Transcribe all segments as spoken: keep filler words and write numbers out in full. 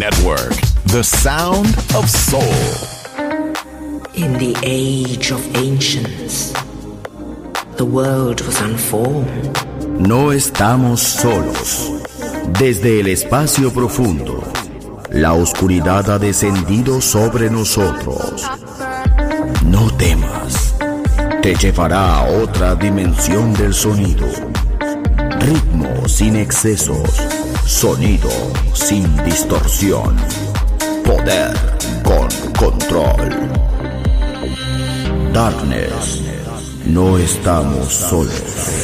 Network, the sound of soul. In the age of ancients, the world was unformed. No estamos solos. Desde el espacio profundo, la oscuridad ha descendido sobre nosotros. No temas, te llevará a otra dimensión del sonido. Ritmo sin excesos, sonido sin distorsión, poder con control. Darkness, no estamos solos.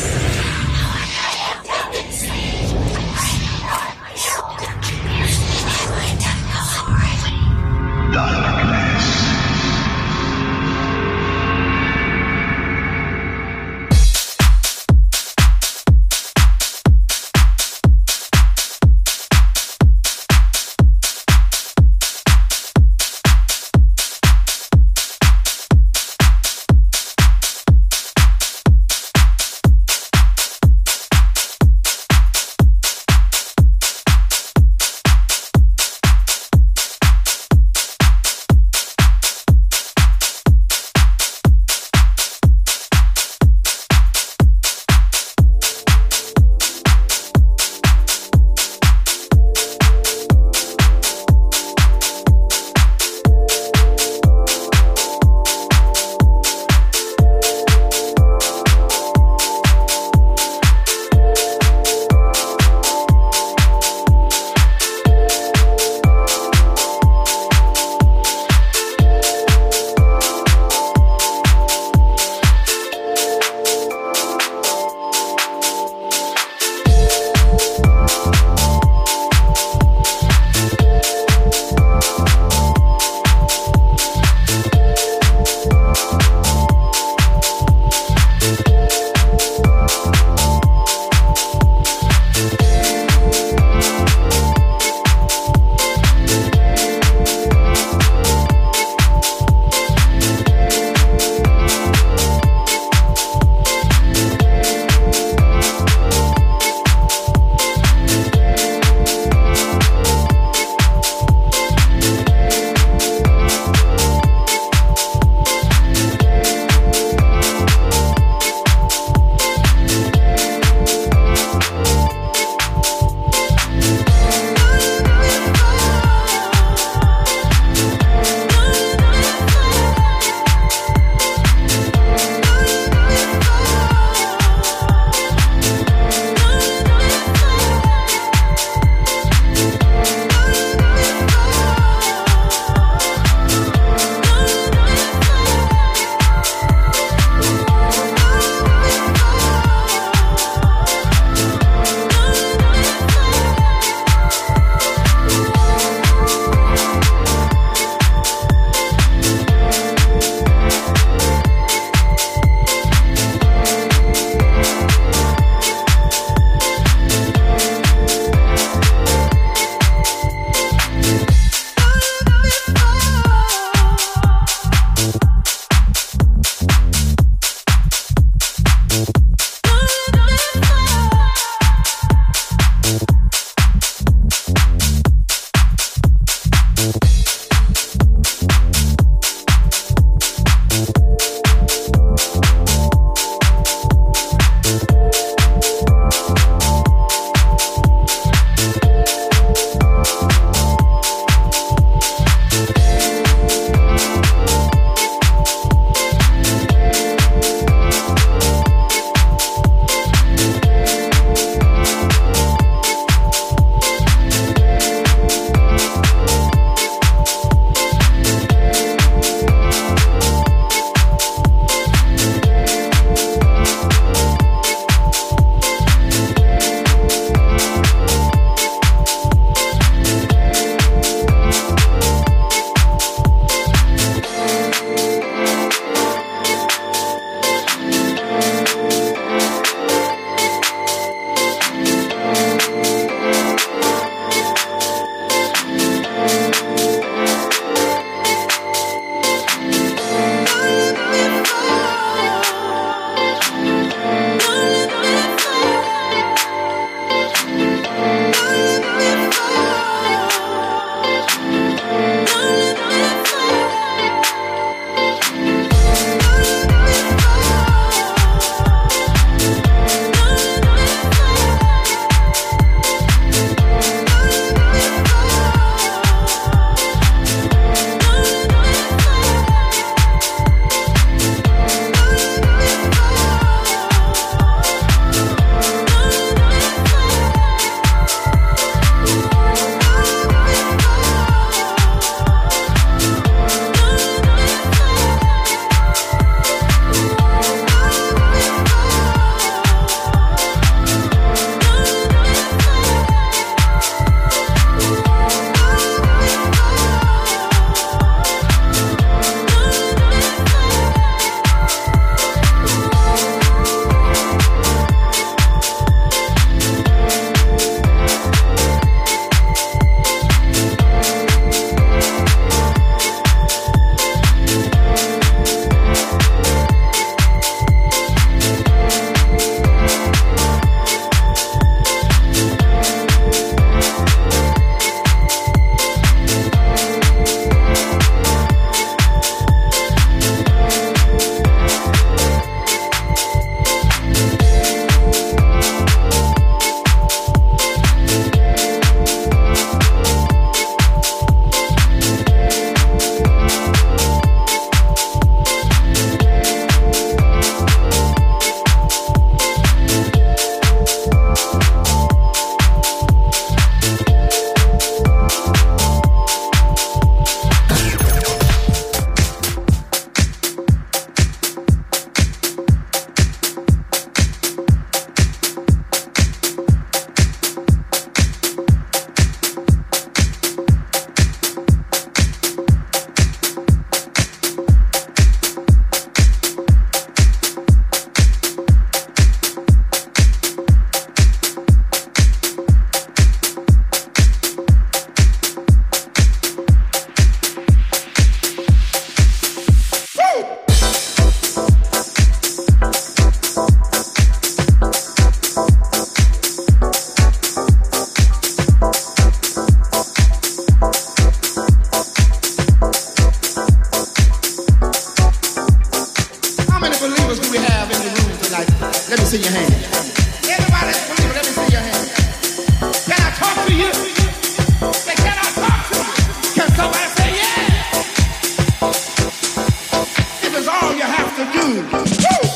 tonight, let me see your hand. Everybody that's believer, let me see your hand. Can I talk to you? Say, can I talk to you? Can somebody say yeah? This is all you have to do. Woo!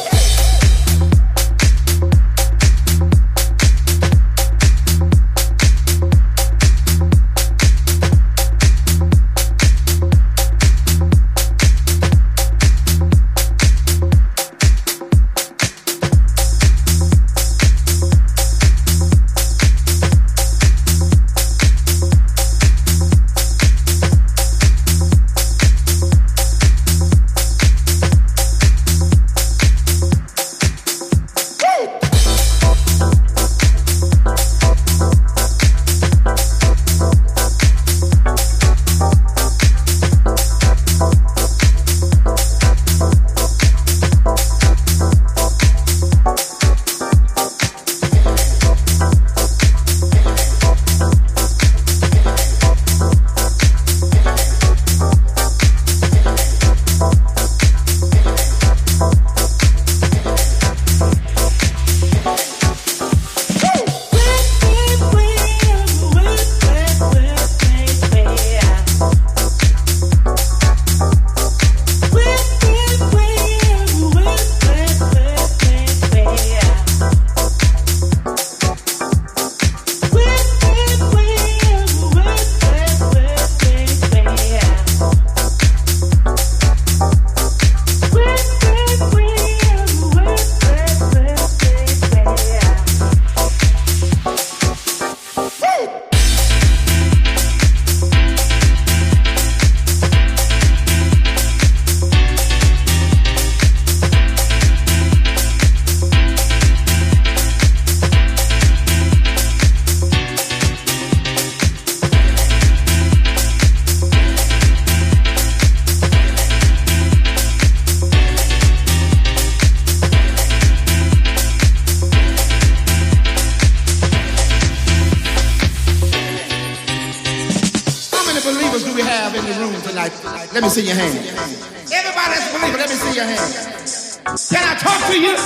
Let me see your hand. Everybody that's a believer, let me see your hand. Can I talk to you?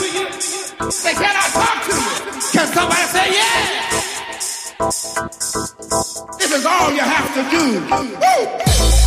Say, can I talk to you? Can somebody say yeah? This is all you have to do. Woo!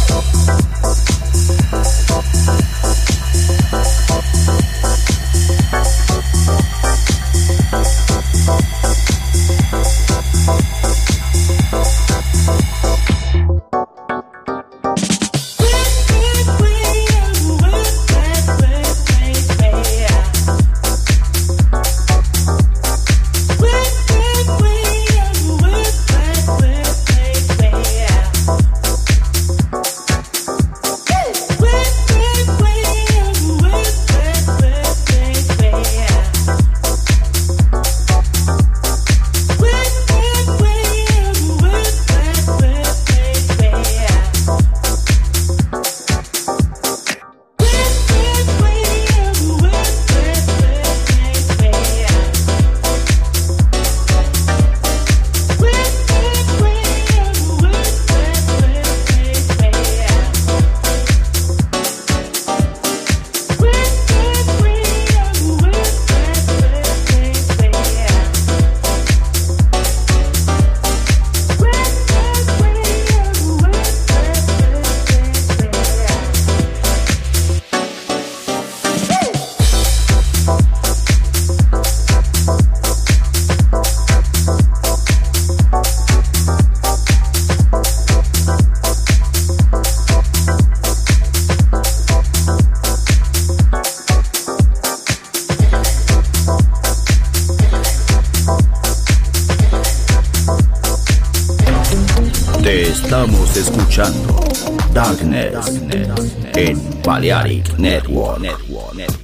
Estamos escuchando Darkness, Darkness en Balearic Network. Network, Network.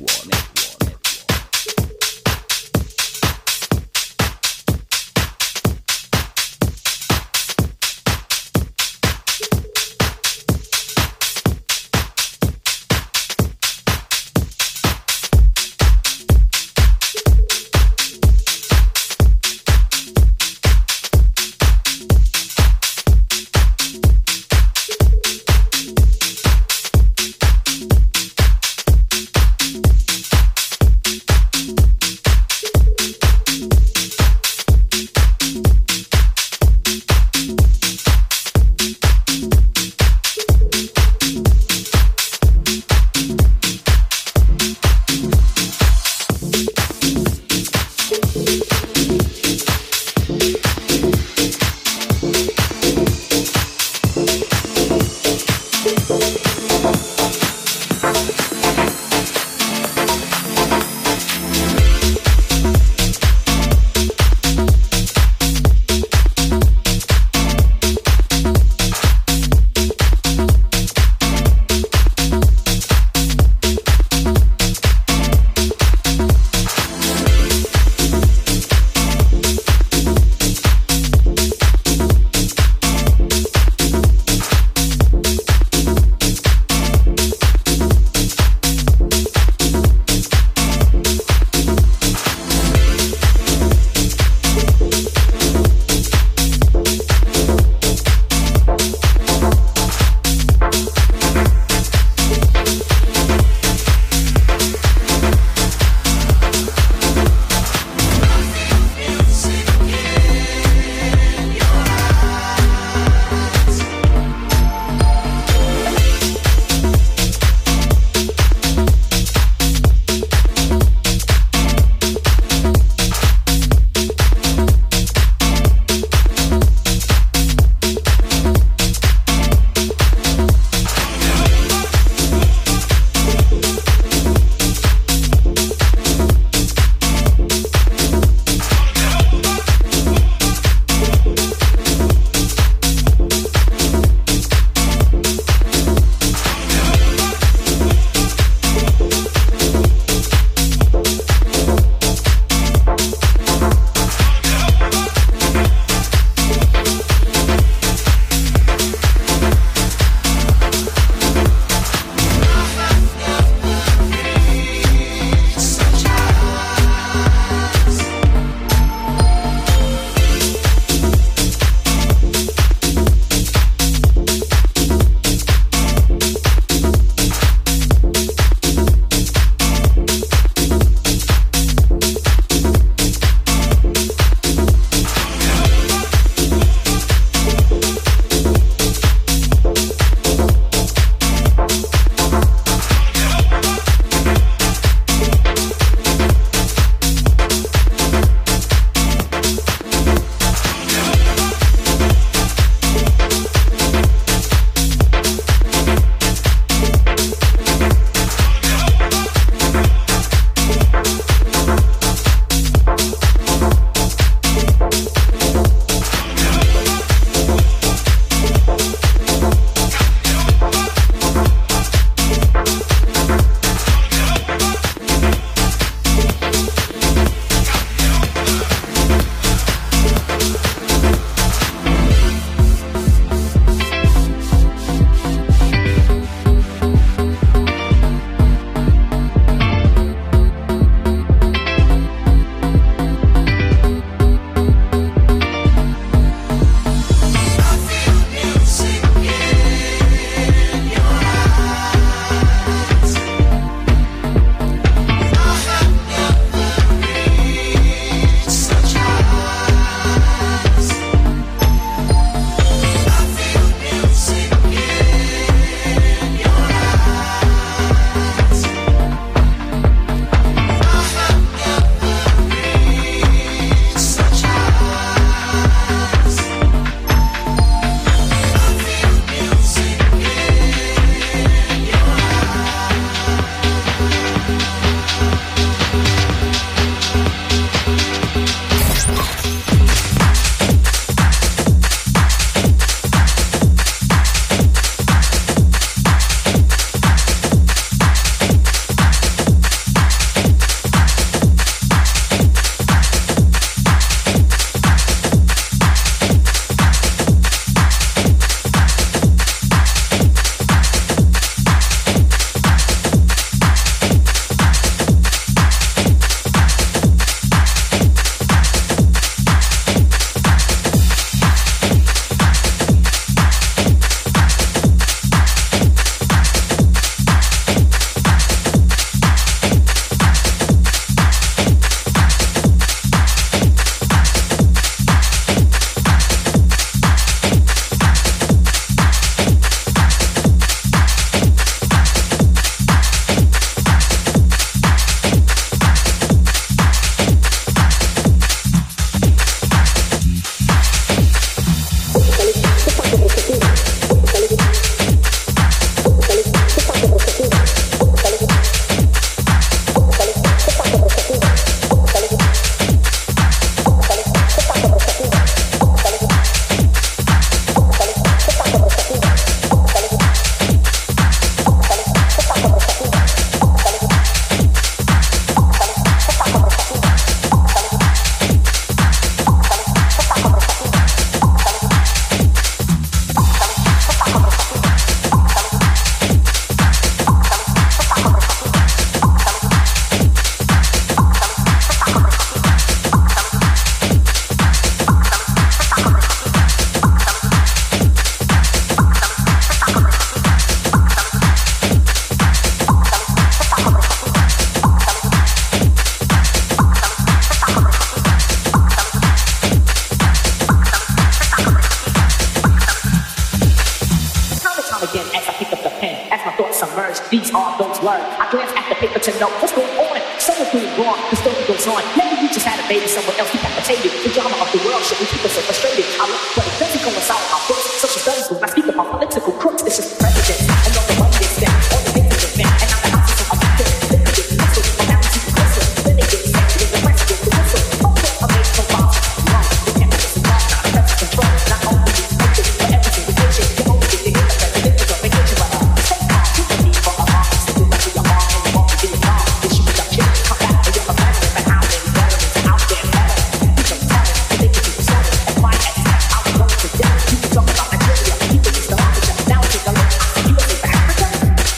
These are those words. I glance at the paper to know what's going on. Someone's doing wrong, the story goes on. Maybe you just had a baby, someone else decapitated. The drama of the world should we keep us so frustrated. I look, but it doesn't coincide with our books. Social studies when I speak about political crooks. This is the president. I know the money they spent, all the things they spent, and now the houses are addicted. They could get pistol, and now we see the crystal. Then they get sick, there's the rest of the whistle. Also, I made no bombs. Wrong, the chemicals are wrong, not a press control. Not only is it for every single patient, you only get to hear the president is on vacation, but uh, stay calm, you can be for a mom. Simply like your mom, and you won't be a mom. They shoot your kid, come back, and you're a veteran, but how many veterans are out there better? You can tell it, you think you can sell it, and why X X out the road to death. You can talk about Nigeria, people used to laugh at you. Now take a look, U S A for Africa?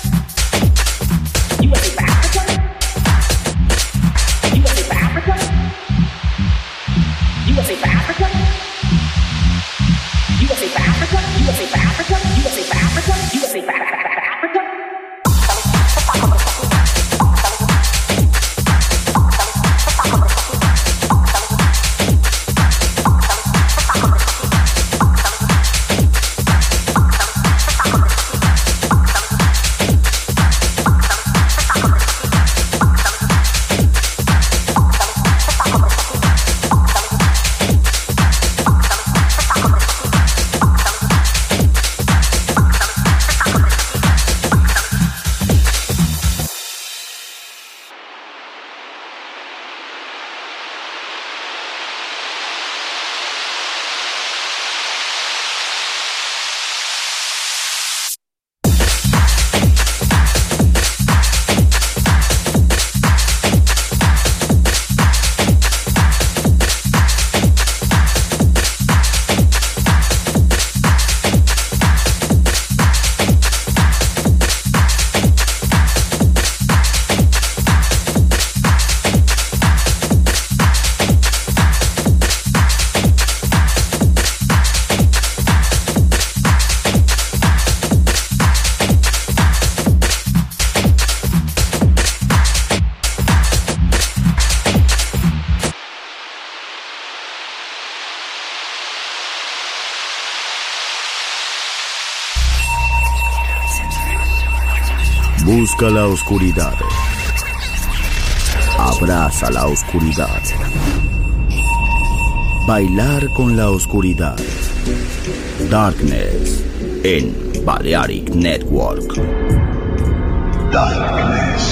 U S A for Africa? U S A for Africa? U S A for Africa? U S A for Africa? U S A for Africa? U S A for Africa? U S A for Africa? Busca la oscuridad. Abraza la oscuridad. Bailar con la oscuridad. Darkness en Balearic Network. Darkness.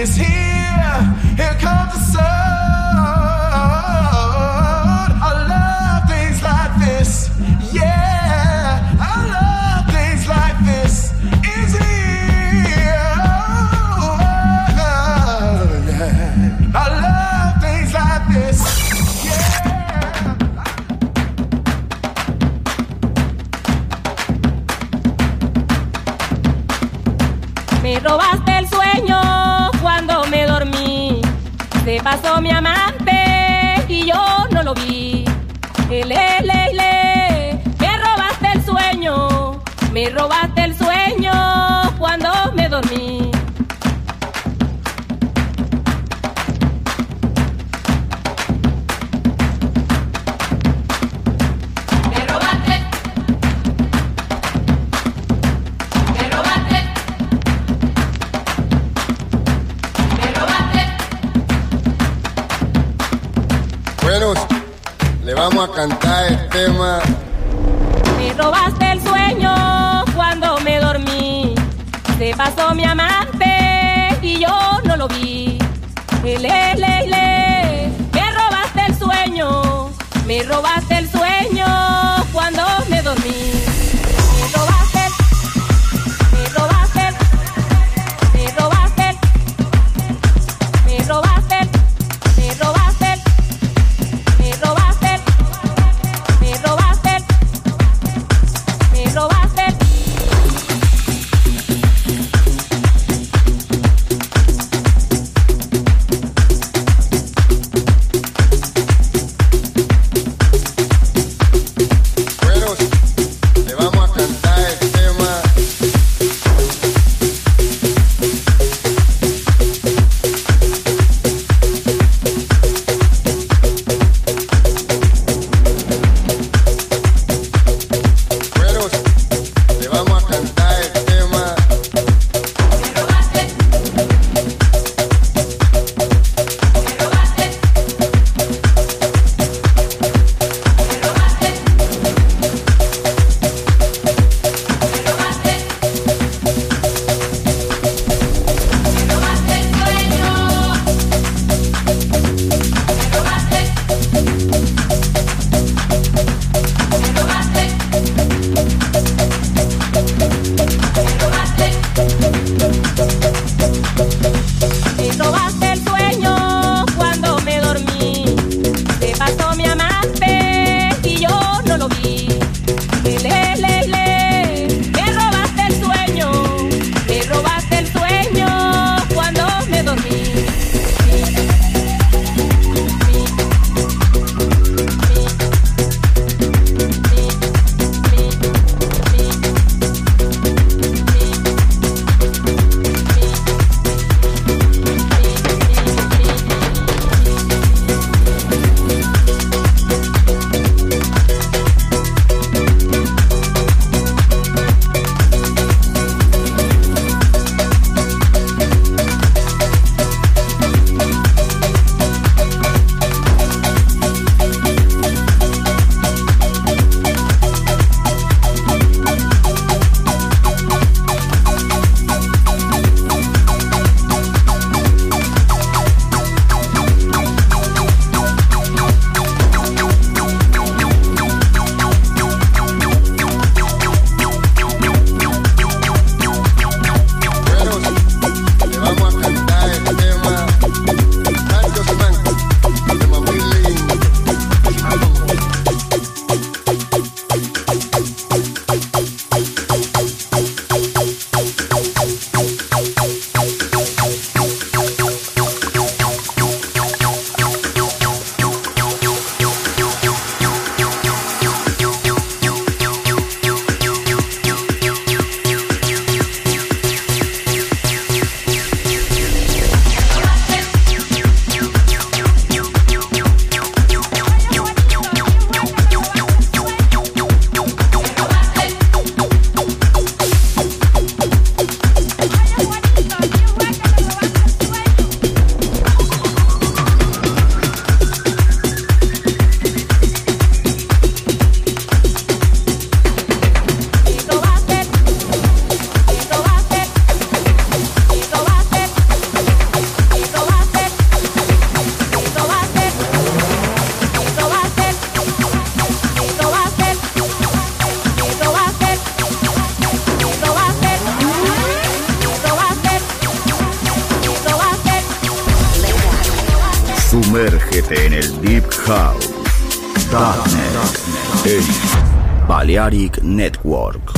is here. Here comes the sun. I love things like this. Yeah, I love things like this. Is here. Oh, yeah. I love things like this. Me robaste el sueño cuando me dormí. Se pasó mi amante y yo no lo vi. Ele, le, le. Me robaste el sueño. Me robaste el sueño cuando me dormí. Me robaste. Me robaste. Bueno, le vamos a cantar el tema. Me robaste el sueño cuando me dormí. Se pasó mi amante y yo no lo vi. Le, le, le. Me robaste el sueño. Me robaste el sueño cuando me dormí. Me robaste. Me robaste. Me robaste. Me robaste. Me robaste. Me robaste, me robaste, me robaste. Bueno, Sumérgete en el Deep House. Darknet en Balearic Network.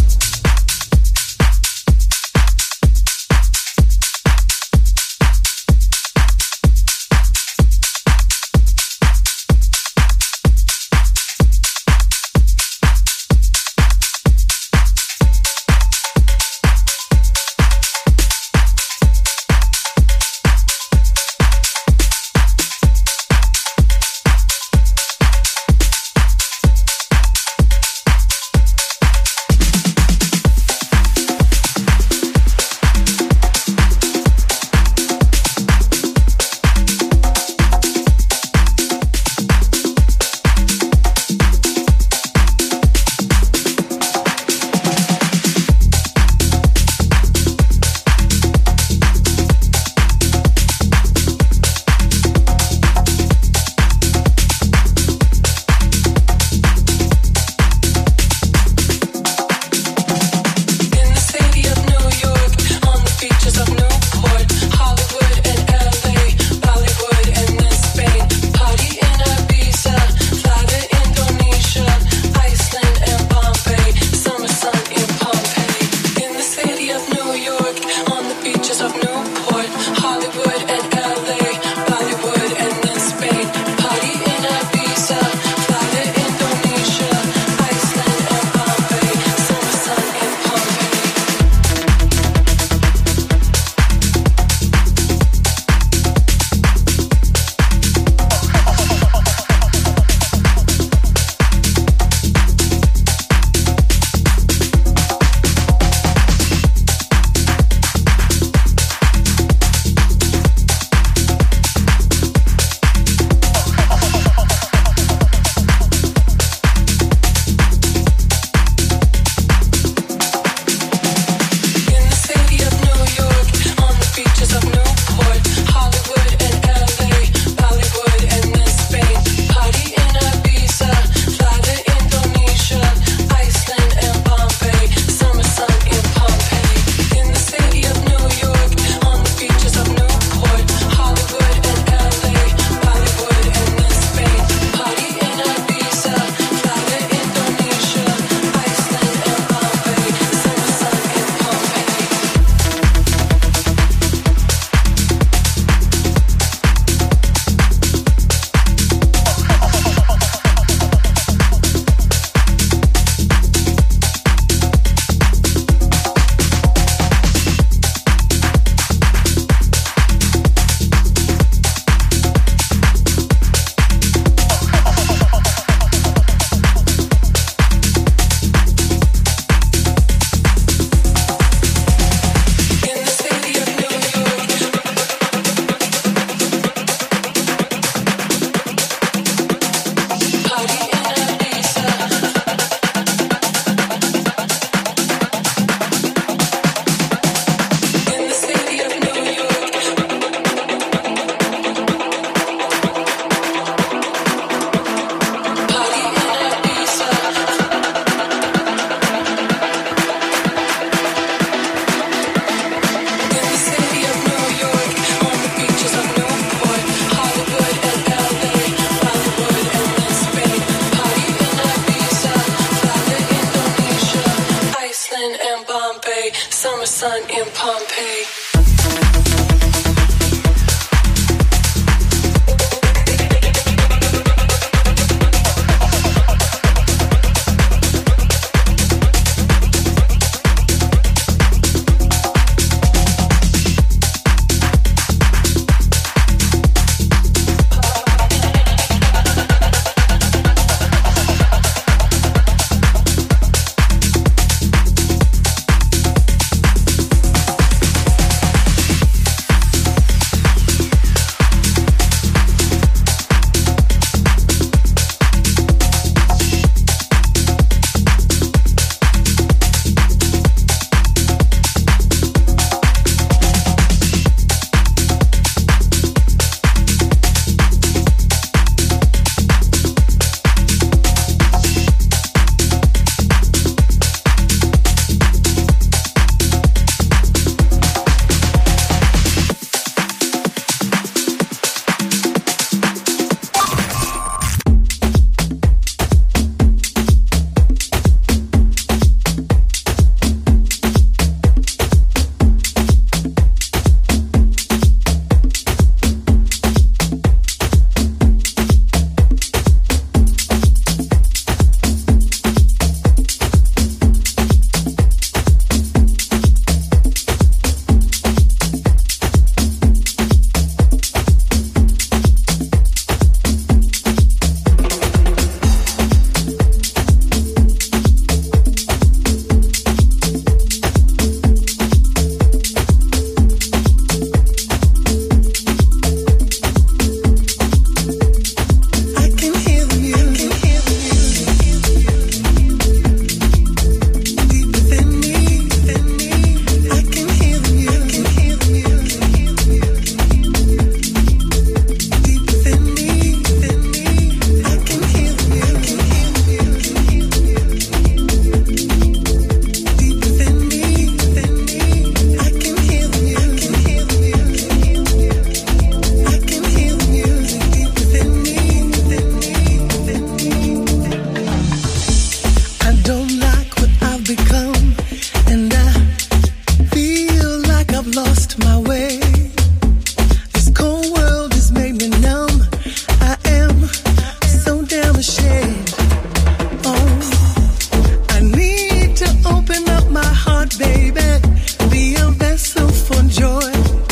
lost my way. This cold world has made me numb. I am so damn ashamed. Oh, I need to open up my heart, baby. Be a vessel for joy.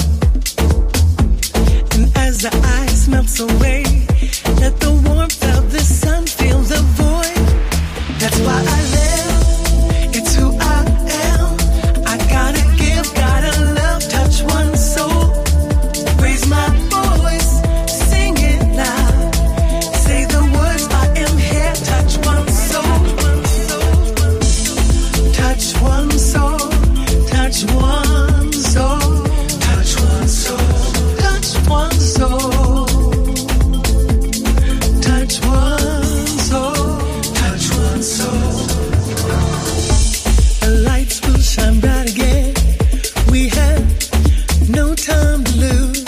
And as the ice melts away, let the warmth of the sun fill the void. That's why I live. It's who I am. I gotta give, gotta love, touch one soul. Raise my voice, sing it loud. Say the words, I am here. Touch one soul. Touch one soul. Touch one soul. Touch one soul. Touch one soul. Touch one soul. Touch one soul. The lights will shine bright again. We have no time to lose.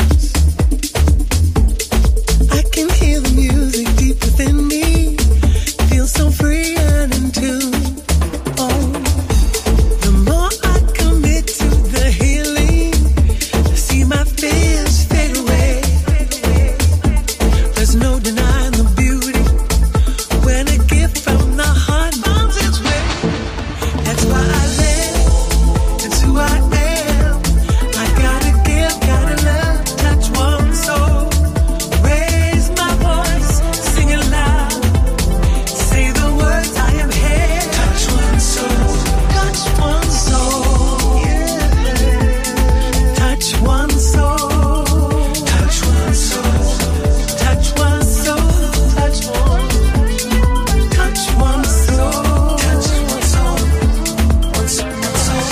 I can hear the music deep within me. Feel so free and in tune. Oh, the more I commit to the healing, I see my fears fade away. There's no denying the beauty when a gift from the heart finds its way. That's why I live. It's who I am. I gotta give, gotta love, touch one soul. Raise my voice, sing it loud. Say the words, I am here. Touch one soul. Touch one soul. Yeah. Touch one soul. Touch one soul. Touch one soul. Touch one. Touch one soul. Touch one soul. One soul. One soul.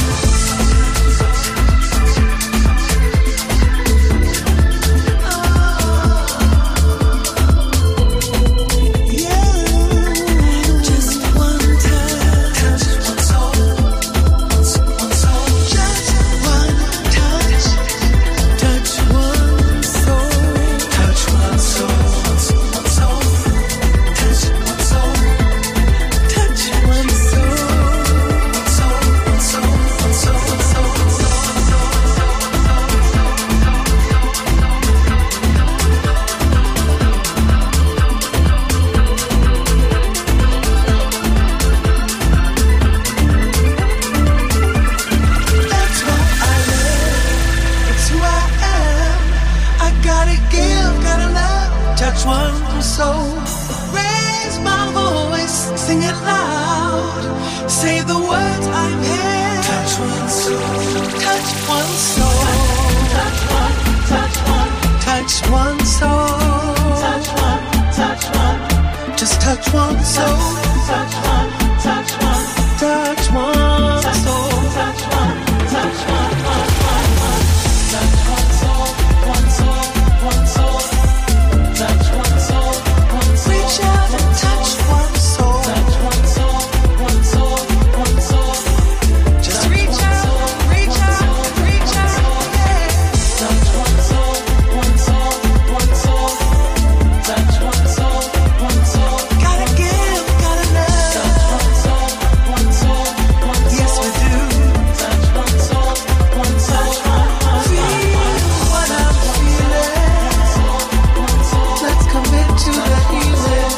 Yeah. Just one touch. Touch one soul. One soul. One soul. Just one touch. Touch one soul. Touch one soul. One soul. One soul. Touch one soul. Touch one soul. One soul. One soul. One soul. One soul. That's why I live. It's who I am. I gotta give, gotta love, touch one soul. Raise my voice, sing it loud. Say the words, I'm here. Touch one soul. Touch one soul. Touch one. Touch one. Touch one soul. Touch one. Touch one. Just touch one soul. Touch one. Touch one. Touch one soul. Touch one. Touch one. Touch one soul. One soul. One soul. Touch one soul. One soul. Reach out and touch one soul. Touch one soul. One soul. One soul. Just reach out, reach out, reach out, yeah. Touch one soul. One soul. One soul. Touch one soul. One soul. Gotta give, gotta love. Touch one soul. One soul. One soul. Yes, we do. Touch one soul. One soul. Feel what I'm feeling. Let's commit to the healing.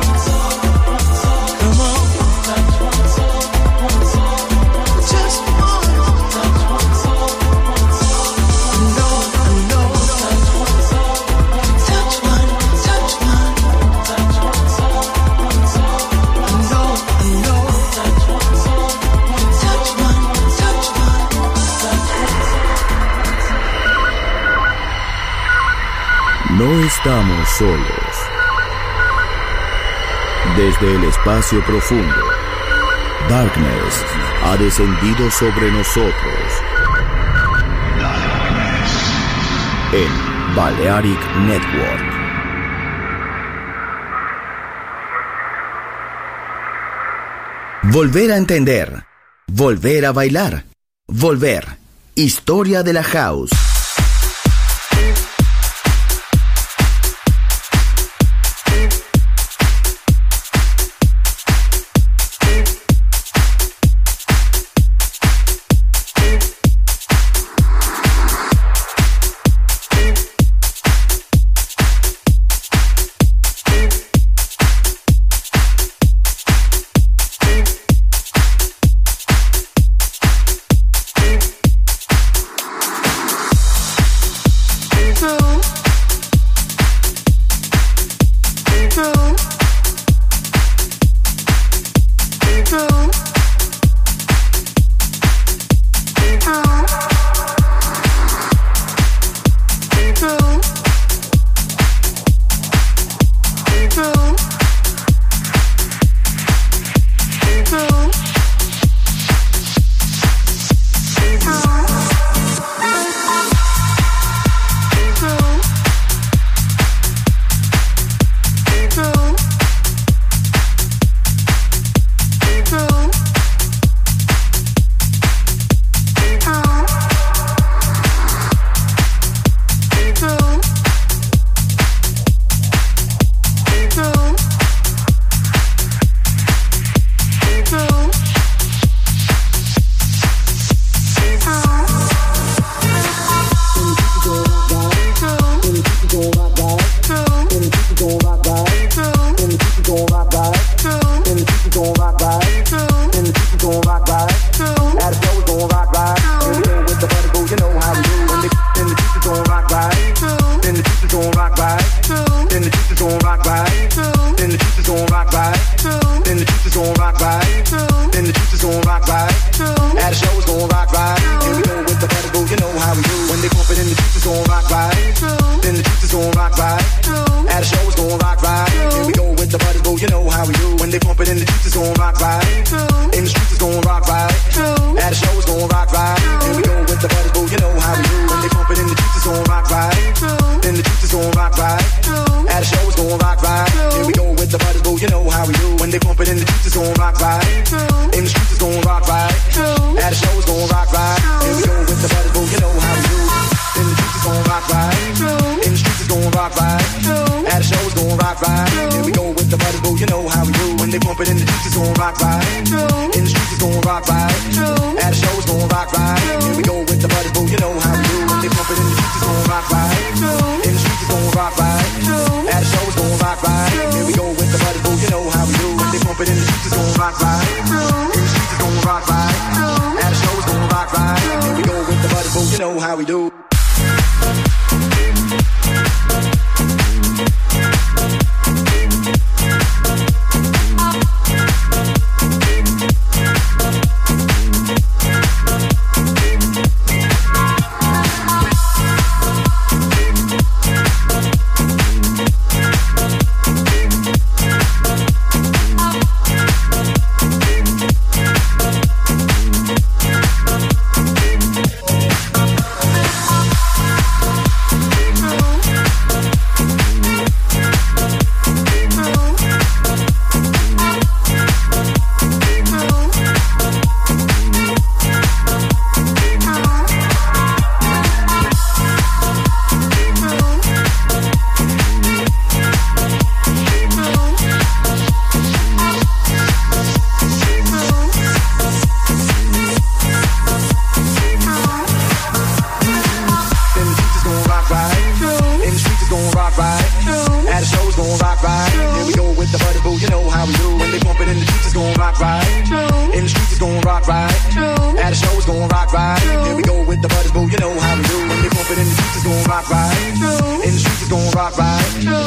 Come on. Touch one soul. One soul. Just one. Touch one soul. One soul. No, no. Touch one soul. Touch one. Touch one. Touch one soul. One soul. No, no. Touch one soul. Touch one. Touch one. No estamos solos. Desde el espacio profundo, Darkness ha descendido sobre nosotros. En Balearic Network. Volver a entender. Volver a bailar. Volver. Historia de la house. gon' rock right. Here we go with the butters, boo, you know how we do. In the streets is gon' rock right. In the streets is gon' rock right. At the shows gon' rock right. Here we go with the butters, boo, you know how we do. When they pump it in the streets is gon' rock right. In the streets is gon' rock right. At the shows gon' rock right. Here we go with the butters, boo, you know how we do. When they pump it in the streets is gon' rock right. In the streets is gon' rock right. At the shows gon' rock right. Here we go with the butters, boo, you know how we do. When they pump it in the streets is gon' rock right. In the streets is gon' rock right. At the shows gon' rock right. Here we go with the butters, boo, you know how we do. Right.